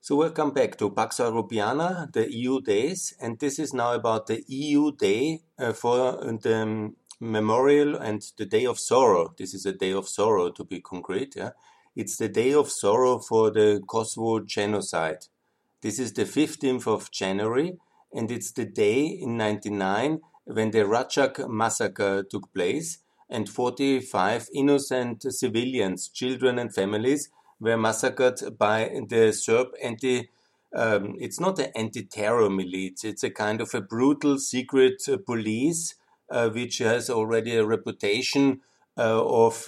So welcome back to Pax Europiana, the EU days, and this is now about the EU day for the memorial and the day of sorrow. This is a day of sorrow, to be concrete. Yeah? It's the day of sorrow for the Kosovo genocide. This is the 15th of January, and it's the day in 1999 when the Racak massacre took place, and 45 innocent civilians, children and families, were massacred by the Serb it's not an anti-terror militia, it's a kind of a brutal secret police which has already a reputation of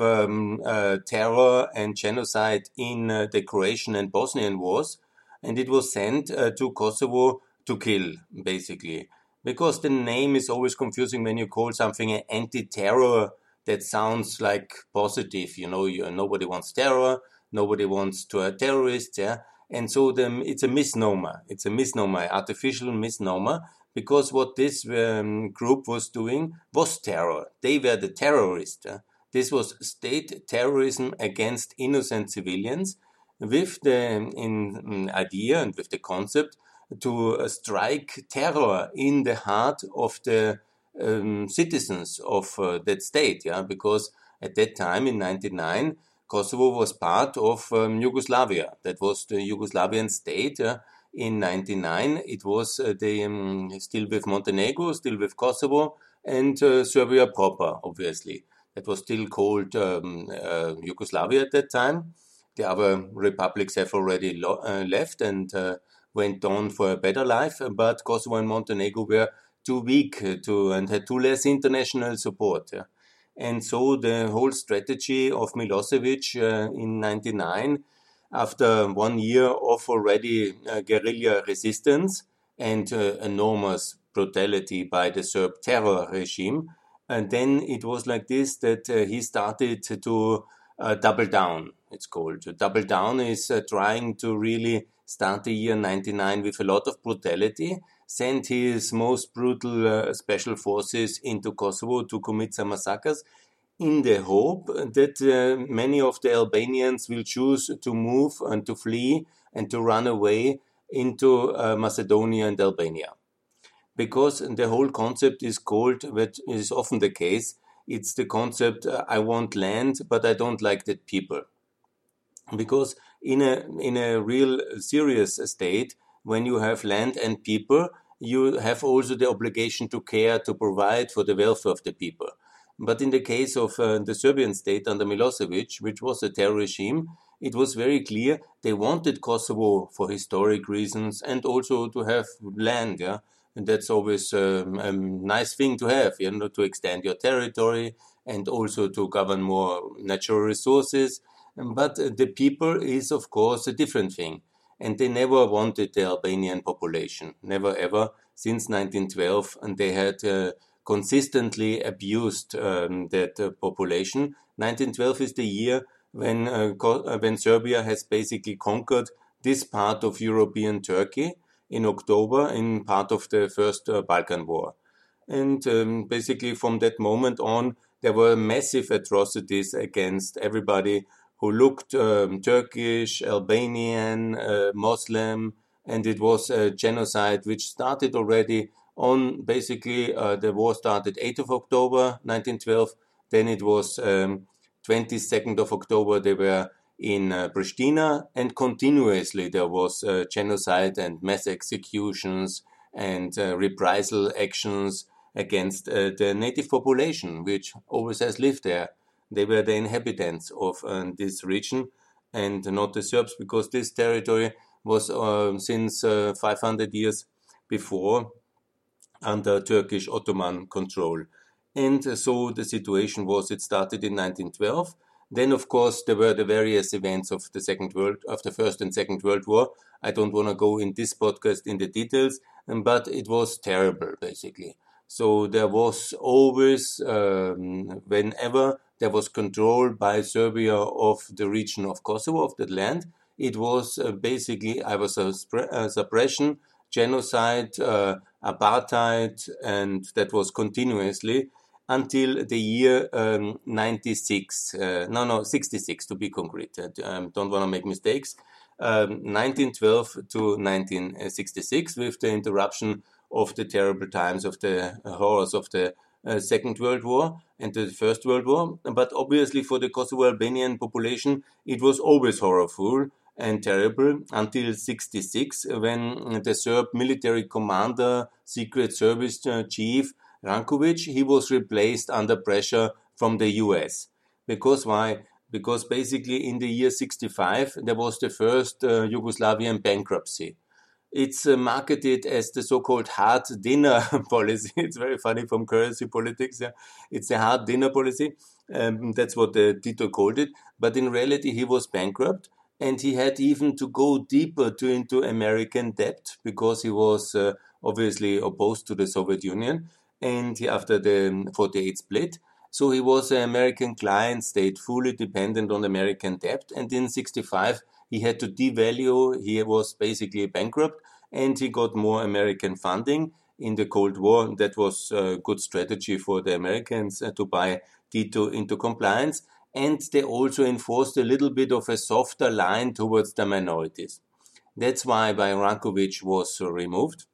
terror and genocide in the Croatian and Bosnian wars, and it was sent to Kosovo to kill, basically. Because the name is always confusing when you call something an anti-terror, that sounds like positive, nobody wants terror, nobody wants to a terrorist, yeah? And so it's a misnomer. It's a misnomer, artificial misnomer, because what this group was doing was terror. They were the terrorists. This was state terrorism against innocent civilians with the idea and with the concept to strike terror in the heart of the citizens of that state, yeah, because at that time in 1999, Kosovo was part of Yugoslavia. That was the Yugoslavian state. In 1999, it was still with Montenegro, still with Kosovo, and Serbia proper, obviously. That was still called Yugoslavia at that time. The other republics have already left and went on for a better life, but Kosovo and Montenegro were too weak and had too less international support. Yeah. And so the whole strategy of Milosevic in 1999, after 1 year of already guerrilla resistance and enormous brutality by the Serb terror regime, and then it was like this that he started to double down, it's called. Double down is trying to really start the year 99 with a lot of brutality, sent his most brutal special forces into Kosovo to commit some massacres in the hope that many of the Albanians will choose to move and to flee and to run away into Macedonia and Albania. Because the whole concept is called, which is often the case, it's the concept, I want land, but I don't like that people. Because in a real serious state, when you have land and people, you have also the obligation to care, to provide for the welfare of the people. But in the case of the Serbian state under Milosevic, which was a terror regime, it was very clear they wanted Kosovo for historic reasons and also to have land, yeah. And that's always a nice thing to have, to extend your territory and also to govern more natural resources. But the people is, of course, a different thing. And they never wanted the Albanian population, never ever, since 1912. And they had consistently abused that population. 1912 is the year when Serbia has basically conquered this part of European Turkey in October in part of the First Balkan War. And basically from that moment on, there were massive atrocities against everybody who looked Turkish, Albanian, Muslim, and it was a genocide which started already on basically the war started 8th of October 1912, then it was 22nd of October they were in Pristina, and continuously there was genocide and mass executions and reprisal actions against the native population, which always has lived there. They were the inhabitants of this region and not the Serbs, because this territory was since 500 years before under Turkish Ottoman control. And so the situation was, it started in 1912. Then, of course, there were the various events of the First and Second World War. I don't want to go in this podcast in the details, but it was terrible, basically. So there was always, whenever there was control by Serbia of the region of Kosovo, of that land, it was basically either suppression, genocide, apartheid, and that was continuously until the year 66 to be concrete. Don't want to make mistakes. 1912 to 1966, with the interruption of the terrible times of the horrors of the Second World War and the First World War. But obviously for the Kosovo Albanian population, it was always horrible and terrible until 66, when the Serb military commander, Secret Service chief Rankovic, he was replaced under pressure from the US. Because why? Because basically in the year 65, there was the first Yugoslavian bankruptcy. It's marketed as the so-called hard dinner policy. It's very funny from currency politics. Yeah. It's a hard dinner policy. That's what Tito called it. But in reality, he was bankrupt, and he had even to go deeper into American debt because he was obviously opposed to the Soviet Union, and after the 48 split. So he was an American client, stayed fully dependent on American debt, and in 65 he had to devalue. He was basically bankrupt, and he got more American funding in the Cold War. That was a good strategy for the Americans to buy Tito into compliance, and they also enforced a little bit of a softer line towards the minorities. That's why Rankovic was removed.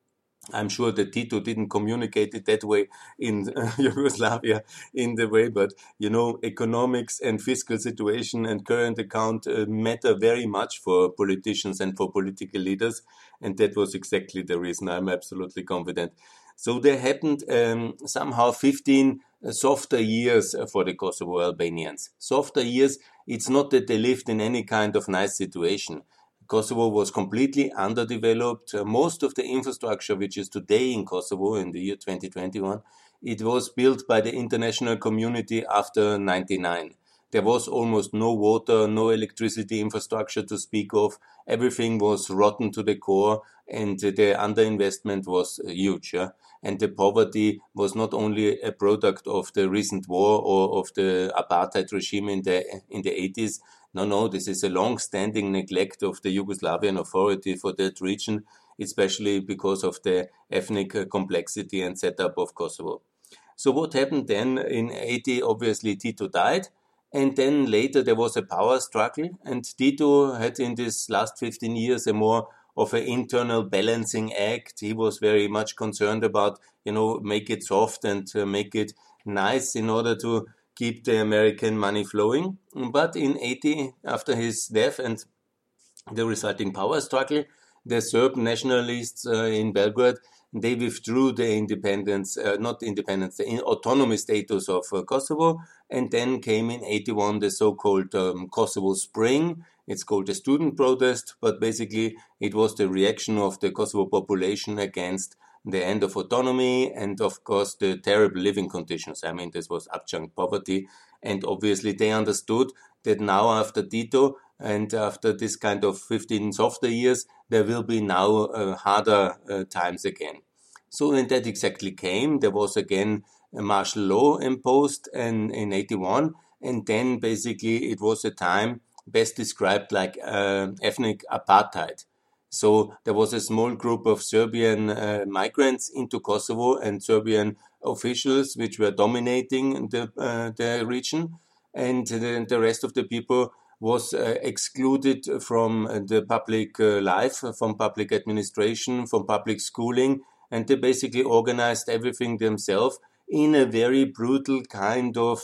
I'm sure that Tito didn't communicate it that way in Yugoslavia in the way, but economics and fiscal situation and current account matter very much for politicians and for political leaders, and that was exactly the reason. I'm absolutely confident. So there happened somehow 15 softer years for the Kosovo Albanians. Softer years, it's not that they lived in any kind of nice situation. Kosovo was completely underdeveloped. Most of the infrastructure which is today in Kosovo in the year 2021, it was built by the international community after 99. There was almost no water, no electricity infrastructure to speak of. Everything was rotten to the core, and the underinvestment was huge. Yeah? And the poverty was not only a product of the recent war or of the apartheid regime in the 80s. No, this is a long-standing neglect of the Yugoslavian authority for that region, especially because of the ethnic complexity and setup of Kosovo. So what happened then in 80? Obviously, Tito died. And then later there was a power struggle, and Tito had in this last 15 years a more of an internal balancing act. He was very much concerned about, make it soft and make it nice in order to keep the American money flowing. But in 80, after his death and the resulting power struggle, the Serb nationalists in Belgrade, they withdrew the the autonomy status of Kosovo, and then came in 81 the so-called Kosovo Spring. It's called a student protest, but basically it was the reaction of the Kosovo population against the end of autonomy and, of course, the terrible living conditions. I mean, this was adjunct poverty, and obviously they understood that now after Tito and after this kind of 15 softer years, there will be now harder times again. So when that exactly came, there was again a martial law imposed in 81, and then basically it was a time best described like ethnic apartheid. So there was a small group of Serbian migrants into Kosovo and Serbian officials which were dominating the region, and the rest of the people was excluded from the public life, from public administration, from public schooling, and they basically organized everything themselves in a very brutal kind of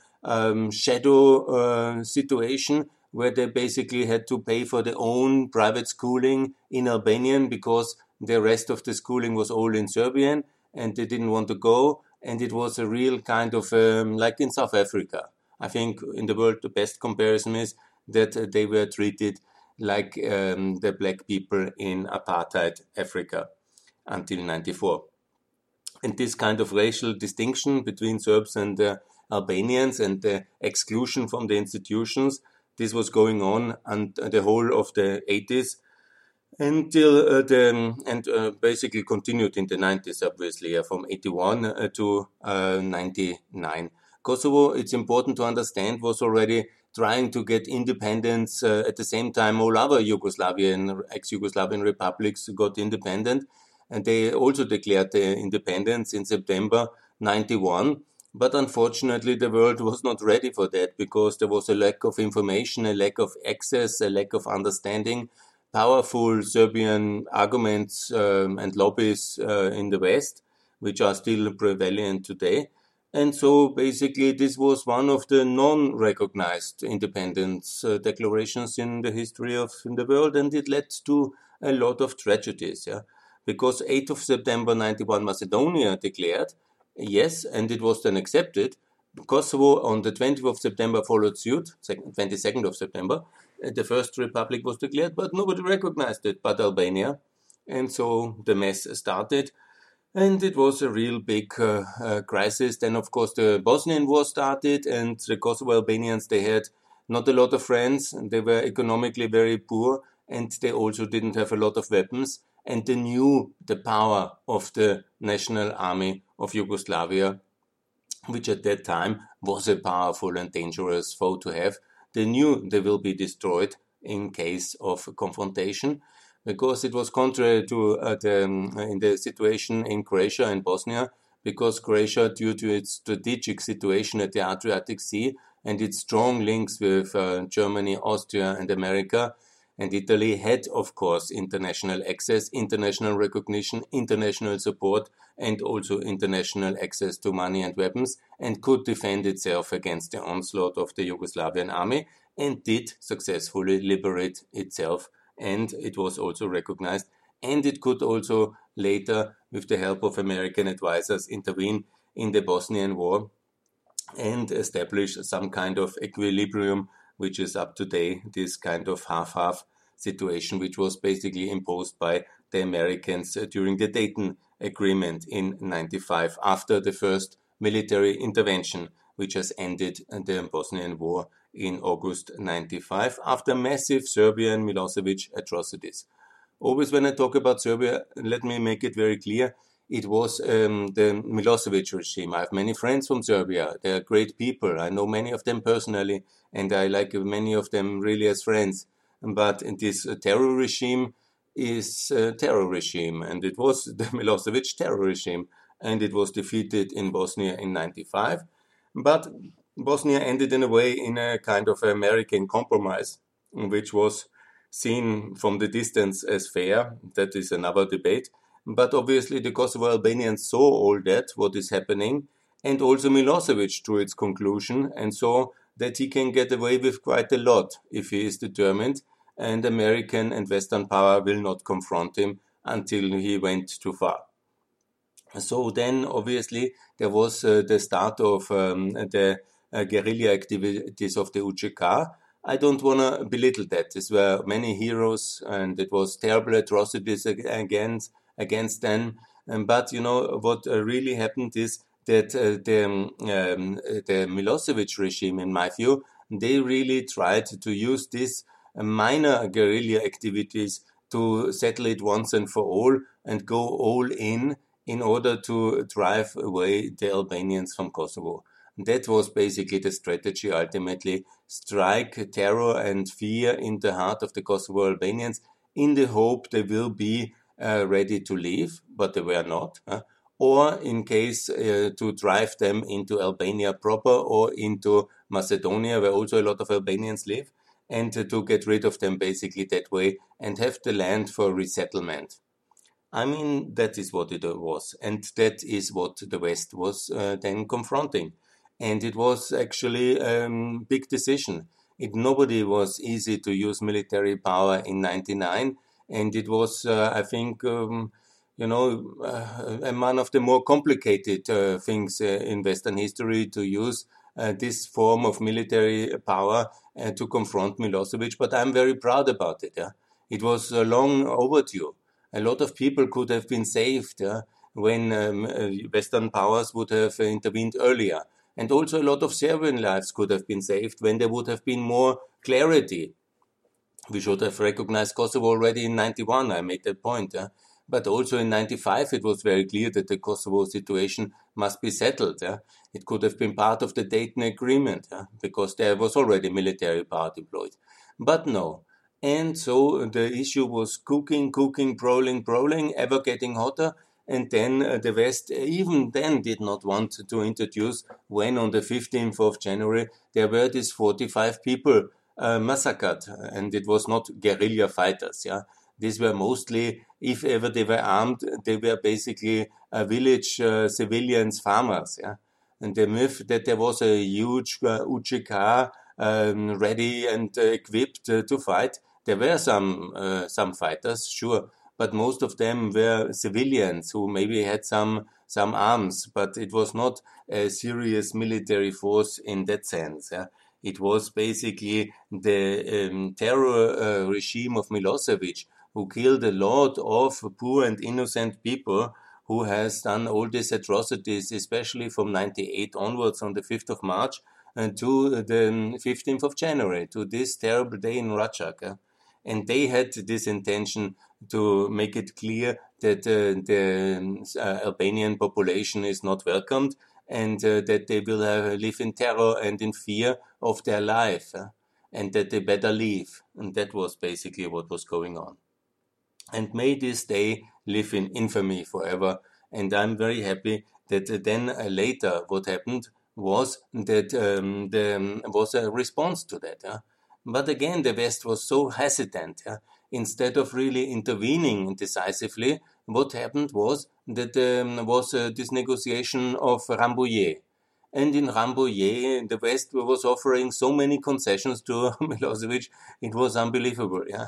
shadow situation, where they basically had to pay for their own private schooling in Albanian because the rest of the schooling was all in Serbian, and they didn't want to go. And it was a real kind of like in South Africa. I think in the world the best comparison is that they were treated like the black people in apartheid Africa until 94. And this kind of racial distinction between Serbs and Albanians and the exclusion from the institutions, this was going on and the whole of the 80s until basically continued in the 90s, obviously, from 81 to 99. Kosovo, it's important to understand, was already trying to get independence at the same time all other ex-Yugoslavian republics got independent, and they also declared their independence in September 91. But unfortunately, the world was not ready for that because there was a lack of information, a lack of access, a lack of understanding. Powerful Serbian arguments and lobbies in the West, which are still prevalent today. And so basically, this was one of the non-recognized independence declarations in the history of in the world, and it led to a lot of tragedies. Yeah, because 8th of September 91, Macedonia declared, yes, and it was then accepted. Kosovo on the 20th of September followed suit, 22nd of September. The first republic was declared, but nobody recognized it but Albania. And so the mess started. And it was a real big crisis. Then, of course, the Bosnian War started, and the Kosovo Albanians, they had not a lot of friends, and they were economically very poor, and they also didn't have a lot of weapons, and they knew the power of the National Army of Yugoslavia, which at that time was a powerful and dangerous foe to have. They knew they will be destroyed in case of confrontation, because it was contrary to in the situation in Croatia and Bosnia, because Croatia, due to its strategic situation at the Adriatic Sea and its strong links with Germany, Austria, and America, and Italy, had, of course, international access, international recognition, international support, and also international access to money and weapons, and could defend itself against the onslaught of the Yugoslavian army, and did successfully liberate itself, and it was also recognized, and it could also later, with the help of American advisors, intervene in the Bosnian War and establish some kind of equilibrium, which is up to today, this kind of half-half situation, which was basically imposed by the Americans during the Dayton Agreement in 95, after the first military intervention, which has ended the Bosnian War in August 95, after massive Serbian Milosevic atrocities. Always when I talk about Serbia, let me make it very clear, it was the Milosevic regime. I have many friends from Serbia. They are great people. I know many of them personally, and I like many of them really as friends. But this terror regime is a terror regime, and it was the Milosevic terror regime, and it was defeated in Bosnia in 95. But Bosnia ended in a way in a kind of American compromise, which was seen from the distance as fair. That is another debate. But obviously the Kosovo Albanians saw all that, what is happening, and also Milosevic drew its conclusion and saw that he can get away with quite a lot if he is determined, and American and Western power will not confront him until he went too far. So then, obviously, there was the start of the guerrilla activities of the UCK. I don't want to belittle that. These were many heroes, and it was terrible atrocities against them. But you know what really happened is that the Milosevic regime, in my view, they really tried to use these minor guerrilla activities to settle it once and for all and go all in order to drive away the Albanians from Kosovo. That was basically the strategy ultimately. Strike terror and fear in the heart of the Kosovo Albanians in the hope they will be ready to leave, but they were not. Or in case to drive them into Albania proper or into Macedonia, where also a lot of Albanians live, and to get rid of them basically that way and have the land for resettlement. I mean, that is what it was, and that is what the West was then confronting. And it was actually a big decision. Nobody was easy to use military power in 99, and it was, I think, one of the more complicated things in Western history to use this form of military power to confront Milosevic. But I'm very proud about it. Yeah? It was long overdue. A lot of people could have been saved when Western powers would have intervened earlier. And also a lot of Serbian lives could have been saved when there would have been more clarity. We should have recognized Kosovo already in 91, I made that point. But also in 95 it was very clear that the Kosovo situation must be settled. It could have been part of the Dayton Agreement because there was already military power deployed. But no. And so the issue was cooking, brewing, ever getting hotter. and then the West even then did not want to introduce when on the 15th of January there were these 45 people massacred, and it was not guerrilla fighters. Yeah, these were mostly, if ever they were armed, they were basically village civilians, farmers. Yeah, and the myth that there was a huge UGK ready and equipped to fight. There were some fighters, sure, but most of them were civilians who maybe had some arms, but it was not a serious military force in that sense. Yeah. It was basically the terror regime of Milosevic who killed a lot of poor and innocent people, who has done all these atrocities, especially from 98 onwards on the 5th of March to the 15th of January, to this terrible day in Rajak. And they had this intention to make it clear that the Albanian population is not welcomed, and that they will live in terror and in fear of their life, and that they better leave. And that was basically what was going on. And may this day live in infamy forever. And I'm very happy that then later what happened was that there was a response to that. But again, the West was so hesitant. Instead of really intervening decisively, what happened was that was this negotiation of Rambouillet. And in Rambouillet, the West was offering so many concessions to Milosevic, it was unbelievable. Yeah?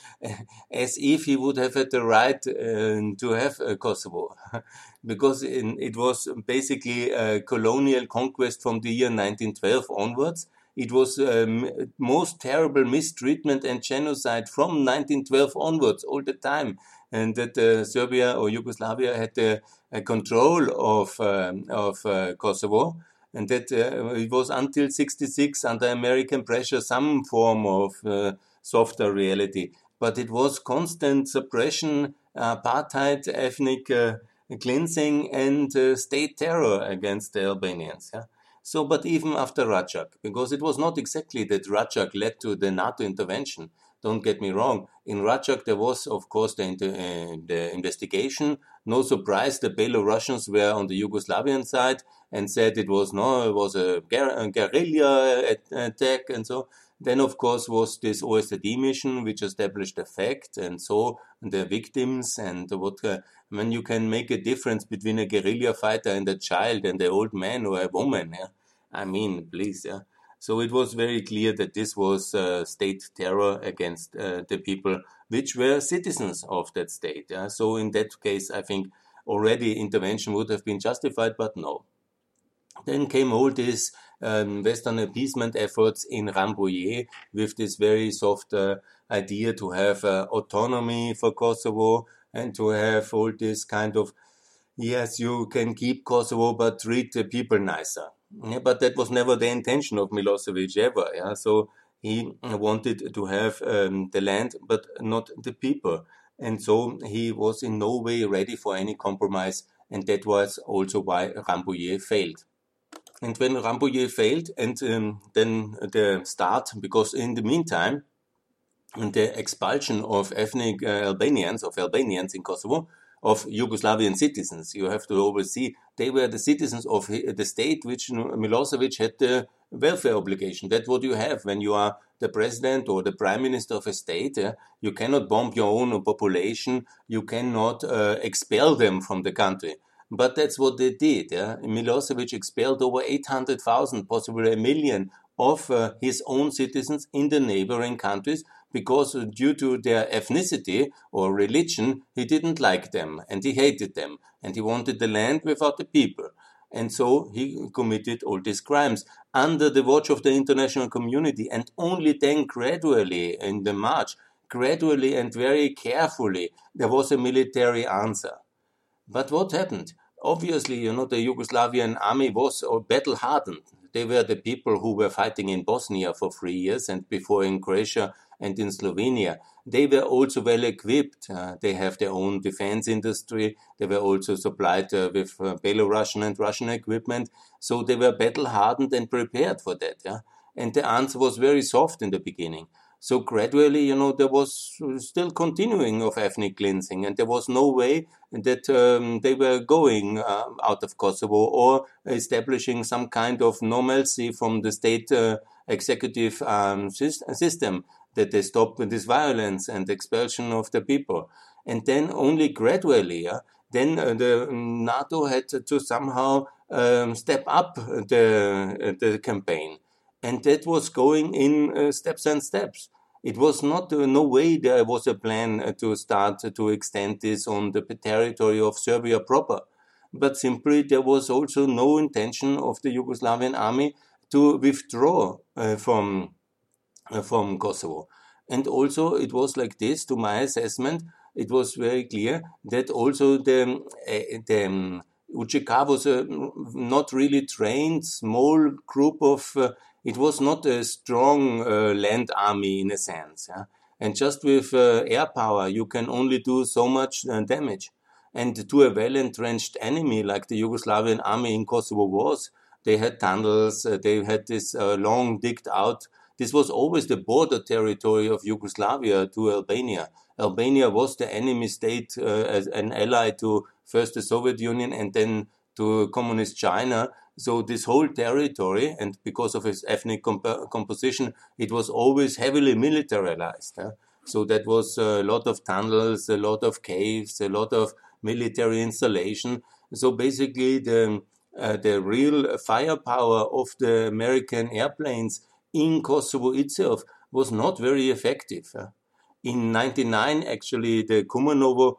As if he would have had the right to have Kosovo, because it was basically a colonial conquest from the year 1912 onwards. It was most terrible mistreatment and genocide from 1912 onwards, all the time, and that Serbia or Yugoslavia had the control of Kosovo. And that it was until 1966, under American pressure, some form of softer reality. But it was constant suppression, apartheid, ethnic cleansing, and state terror against the Albanians. Yeah? So, but even after Rajak, because it was not exactly that Rajak led to the NATO intervention. Don't get me wrong. In Rajak, there was, of course, the investigation. No surprise, the Belarusians were on the Yugoslavian side and said it was a guerrilla attack and so. Then, of course, was this OSCE mission, which established the fact, and so the victims, and when you can make a difference between a guerrilla fighter and a child and an old man or a woman. Yeah? I mean, please. Yeah? So it was very clear that this was state terror against the people which were citizens of that state. Yeah? So in that case, I think already intervention would have been justified, but no. Then came all these Western appeasement efforts in Rambouillet with this very soft idea to have autonomy for Kosovo and to have all this kind of, yes, you can keep Kosovo, but treat the people nicer. Yeah, but that was never the intention of Milosevic ever. Yeah? So he wanted to have the land, but not the people. And so he was in no way ready for any compromise. And that was also why Rambouillet failed. And when Rambouillet failed, and then the start, because in the meantime, the expulsion of ethnic Albanians in Kosovo, of Yugoslavian citizens, you have to always see, they were the citizens of the state which Milosevic had the welfare obligation. That's what you have when you are the president or the prime minister of a state. You cannot bomb your own population. You cannot expel them from the country. But that's what they did. Milosevic expelled over 800,000, possibly 1 million, of his own citizens in the neighboring countries, because due to their ethnicity or religion, he didn't like them and he hated them and he wanted the land without the people. And so he committed all these crimes under the watch of the international community, and only then gradually in the march, gradually and very carefully, there was a military answer. But what happened? Obviously, the Yugoslavian army was battle-hardened. They were the people who were fighting in Bosnia for 3 years and before in Croatia and in Slovenia. They were also well equipped. They have their own defense industry. They were also supplied with Belarusian and Russian equipment. So they were battle-hardened and prepared for that. Yeah? And the answer was very soft in the beginning. So gradually, there was still continuing of ethnic cleansing, and there was no way that they were going out of Kosovo or establishing some kind of normalcy from the state executive system, that they stop this violence and expulsion of the people. And then only gradually, then the NATO had to somehow step up the campaign. And that was going in steps and steps. It was not, no way there was a plan to start to extend this on the territory of Serbia proper. But simply there was also no intention of the Yugoslavian army to withdraw from Kosovo. And also it was like this, to my assessment, it was very clear that also the UČK was a not really trained small group of it was not a strong land army in a sense. And just with air power, you can only do so much damage. And to a well-entrenched enemy like the Yugoslavian army in Kosovo was, they had tunnels, they had this long digged out. This was always the border territory of Yugoslavia to Albania. Albania was the enemy state as an ally to first the Soviet Union and then to Communist China. So this whole territory, and because of its ethnic composition, it was always heavily militarized. So that was a lot of tunnels, a lot of caves, a lot of military installation. So basically the real firepower of the American airplanes in Kosovo itself was not very effective. In 1999, actually, the Kumanovo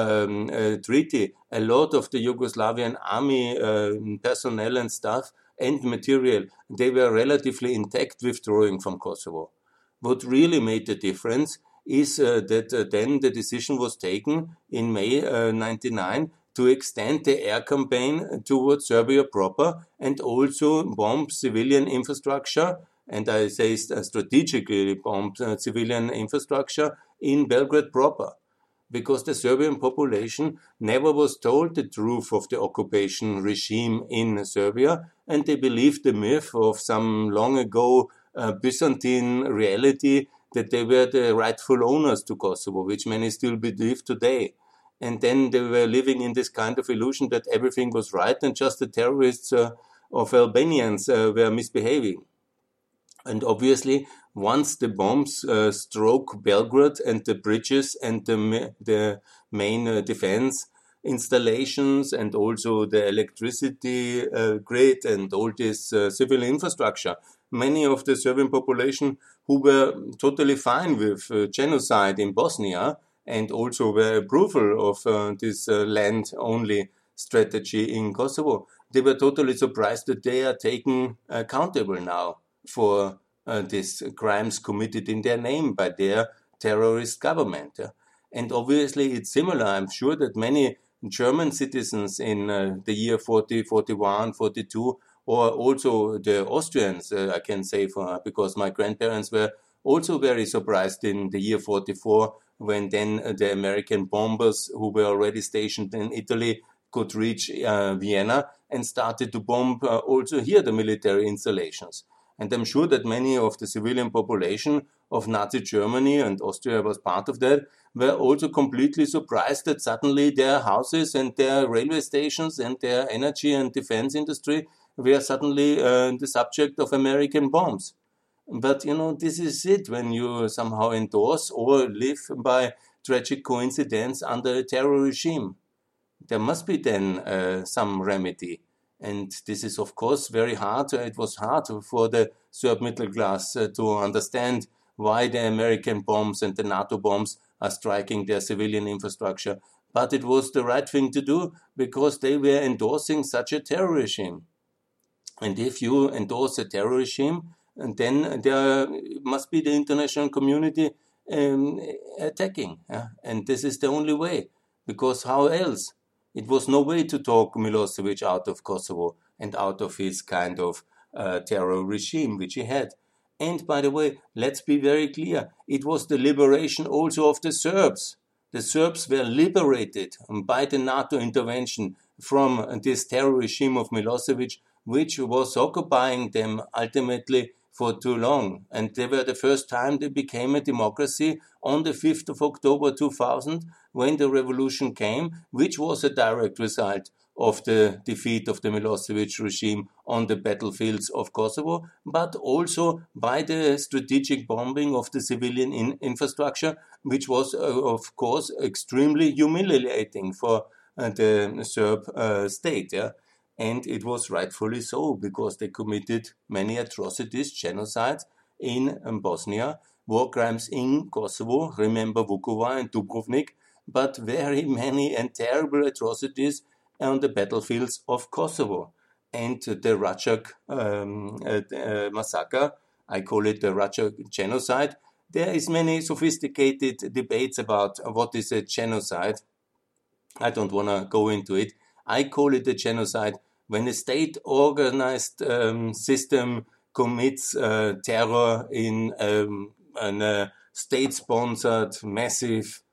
treaty, a lot of the Yugoslavian army personnel and staff and material, they were relatively intact withdrawing from Kosovo. What really made the difference is that then the decision was taken in May 1999 to extend the air campaign towards Serbia proper and also bomb civilian infrastructure, and I say strategically bomb civilian infrastructure in Belgrade proper. Because the Serbian population never was told the truth of the occupation regime in Serbia, and they believed the myth of some long ago Byzantine reality that they were the rightful owners to Kosovo, which many still believe today. And then they were living in this kind of illusion that everything was right and just the terrorists of Albanians were misbehaving. And obviously, once the bombs struck Belgrade and the bridges and the main defense installations and also the electricity grid and all this civil infrastructure, many of the Serbian population who were totally fine with genocide in Bosnia and also were approval of this land-only strategy in Kosovo, they were totally surprised that they are taken accountable now for these crimes committed in their name by their terrorist government. And obviously it's similar. I'm sure that many German citizens in the year 40, 41, 42, or also the Austrians, I can say, because my grandparents were also very surprised in the year 44 when then the American bombers who were already stationed in Italy could reach Vienna and started to bomb also here the military installations. And I'm sure that many of the civilian population of Nazi Germany, and Austria was part of that, were also completely surprised that suddenly their houses and their railway stations and their energy and defense industry were suddenly the subject of American bombs. But, this is it when you somehow endorse or live by tragic coincidence under a terror regime. There must be then some remedy. And this is, of course, very hard. It was hard for the Serb middle class to understand why the American bombs and the NATO bombs are striking their civilian infrastructure. But it was the right thing to do because they were endorsing such a terror regime. And if you endorse a terror regime, then there must be the international community attacking. And this is the only way. Because how else? It was no way to talk Milosevic out of Kosovo and out of his kind of terror regime which he had. And by the way, let's be very clear, it was the liberation also of the Serbs. The Serbs were liberated by the NATO intervention from this terror regime of Milosevic, which was occupying them ultimately for too long. And they were the first time they became a democracy on the 5th of October 2000 when the revolution came, which was a direct result of the defeat of the Milosevic regime on the battlefields of Kosovo, but also by the strategic bombing of the civilian infrastructure, which was, of course, extremely humiliating for the Serb state. Yeah? And it was rightfully so, because they committed many atrocities, genocides in Bosnia, war crimes in Kosovo, remember Vukovar and Dubrovnik, but very many and terrible atrocities on the battlefields of Kosovo. And the Racak massacre, I call it the Racak genocide. There is many sophisticated debates about what is a genocide. I don't want to go into it. I call it a genocide when a state-organized system commits terror in a state-sponsored massive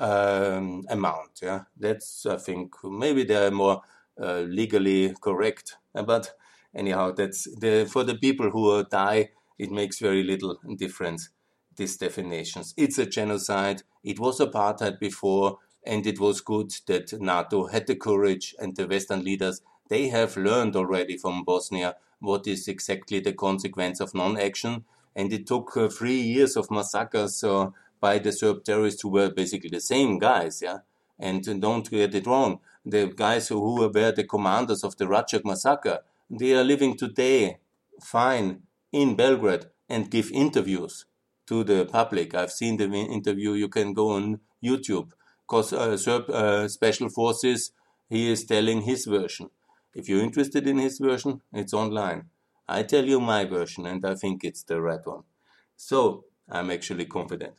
amount. Yeah, that's, I think, maybe they're more legally correct. But anyhow, that's for the people who die, it makes very little difference, these definitions. It's a genocide. It was apartheid before, and it was good that NATO had the courage, and the Western leaders, they have learned already from Bosnia what is exactly the consequence of non-action. And it took 3 years of massacres by the Serb terrorists, who were basically the same guys, yeah. And don't get it wrong, the guys who were the commanders of the Racak massacre, they are living today fine in Belgrade and give interviews to the public. I've seen the interview, you can go on YouTube, because Serb Special Forces, he is telling his version. If you're interested in his version, it's online. I tell you my version, and I think it's the right one. So I'm actually confident.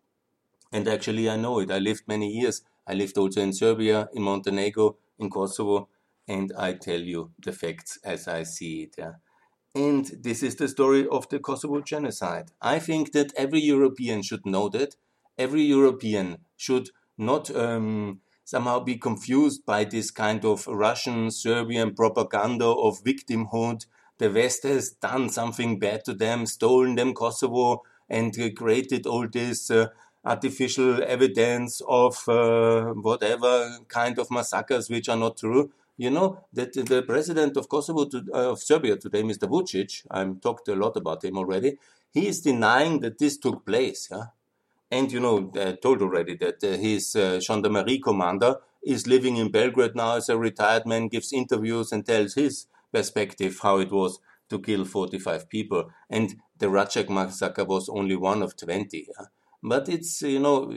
And actually, I know it. I lived many years. I lived also in Serbia, in Montenegro, in Kosovo, and I tell you the facts as I see it. Yeah? And this is the story of the Kosovo genocide. I think that every European should know that. Every European should not somehow be confused by this kind of Russian, Serbian propaganda of victimhood. The West has done something bad to them, stolen them Kosovo, and created all this artificial evidence of whatever kind of massacres which are not true. You know that the president of Kosovo, of Serbia today, Mr. Vucic, I've talked a lot about him already, he is denying that this took place. Yeah? And you know, I told already that his gendarmerie commander is living in Belgrade now as a retired man, gives interviews and tells his perspective how it was to kill 45 people. And the Racak massacre was only one of 20. Yeah? But it's, you know,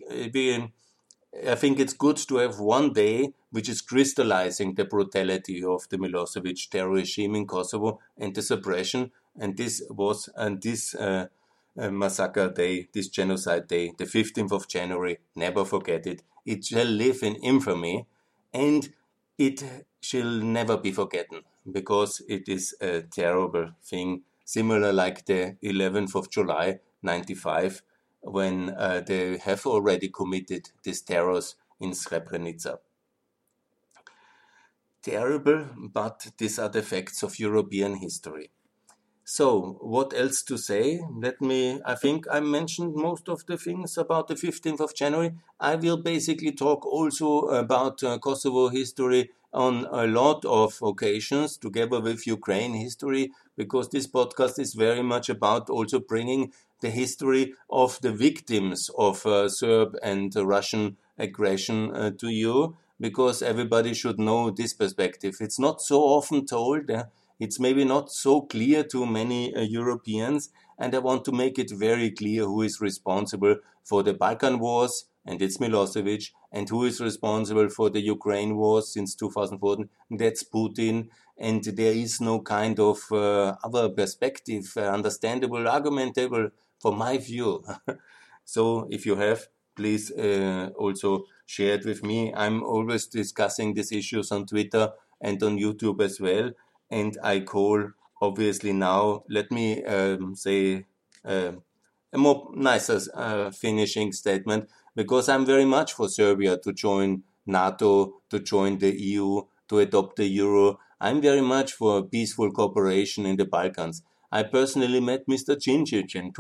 I think it's good to have one day which is crystallizing the brutality of the Milosevic terror regime in Kosovo and the suppression. And this was, massacre day, this genocide day, the 15th of January, never forget it. It shall live in infamy, and it shall never be forgotten, because it is a terrible thing, similar like the 11th of July, 95, when they have already committed these terrors in Srebrenica. Terrible, but these are the facts of European history. So, what else to say? I think I mentioned most of the things about the 15th of January. I will basically talk also about Kosovo history on a lot of occasions, together with Ukraine history, because this podcast is very much about also bringing the history of the victims of Serb and Russian aggression to you, because everybody should know this perspective. It's not so often told. It's maybe not so clear to many Europeans, and I want to make it very clear who is responsible for the Balkan Wars, and it's Milosevic, and who is responsible for the Ukraine wars since 2014, that's Putin, and there is no kind of other perspective, understandable, argumentable, from my view. So if you have, please also share it with me. I'm always discussing these issues on Twitter and on YouTube as well. And I call, obviously now, let me say a more nicer finishing statement, because I'm very much for Serbia to join NATO, to join the EU, to adopt the euro. I'm very much for peaceful cooperation in the Balkans. I personally met Mr. Djindjic in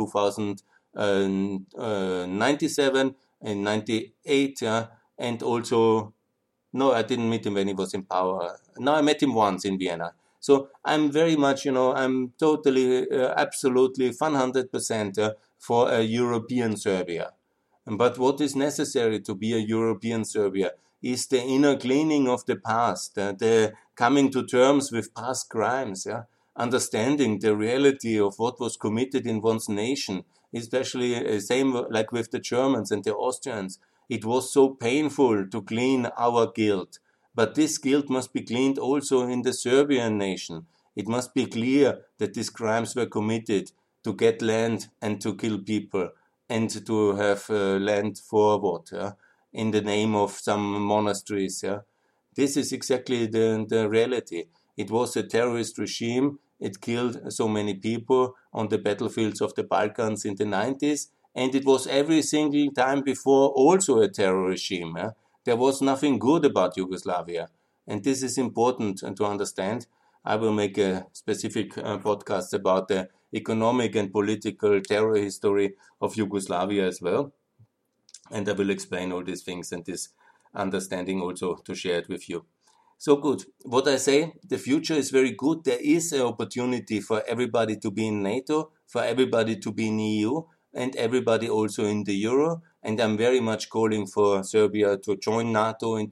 2097 and 98, and also, no, I didn't meet him when he was in power. No, I met him once in Vienna. So I'm very much, I'm totally, absolutely 100% for a European Serbia. But what is necessary to be a European Serbia is the inner cleaning of the past, the coming to terms with past crimes, understanding the reality of what was committed in one's nation, especially same like with the Germans and the Austrians. It was so painful to clean our guilt, but this guilt must be cleaned also in the Serbian nation. It must be clear that these crimes were committed to get land and to kill people and to have land for what? In the name of some monasteries. This is exactly the reality. It was a terrorist regime. It killed so many people on the battlefields of the Balkans in the 90s. And it was every single time before also a terror regime. There was nothing good about Yugoslavia. And this is important to understand. I will make a specific podcast about the economic and political terror history of Yugoslavia as well. And I will explain all these things and this understanding also to share it with you. So good. What I say, the future is very good. There is an opportunity for everybody to be in NATO, for everybody to be in EU, and everybody also in the Euro. And I'm very much calling for Serbia to join NATO in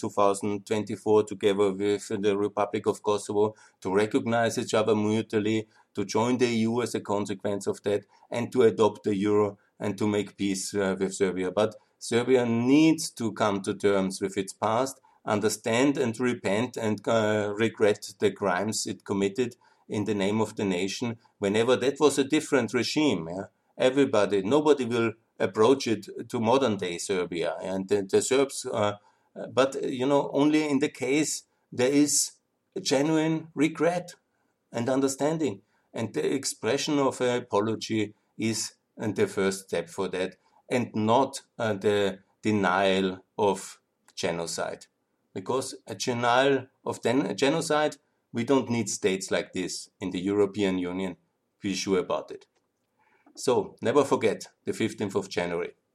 2024 together with the Republic of Kosovo, to recognize each other mutually, to join the EU as a consequence of that, and to adopt the Euro and to make peace with Serbia. But Serbia needs to come to terms with its past, understand and repent and regret the crimes it committed in the name of the nation, whenever that was a different regime. Everybody, nobody will approach it to modern day Serbia. And the Serbs, but only in the case there is genuine regret and understanding. And the expression of an apology is the first step for that, and not the denial of genocide. Because a denial of genocide, we don't need states like this in the European Union. Be sure about it. So, never forget the 15th of January.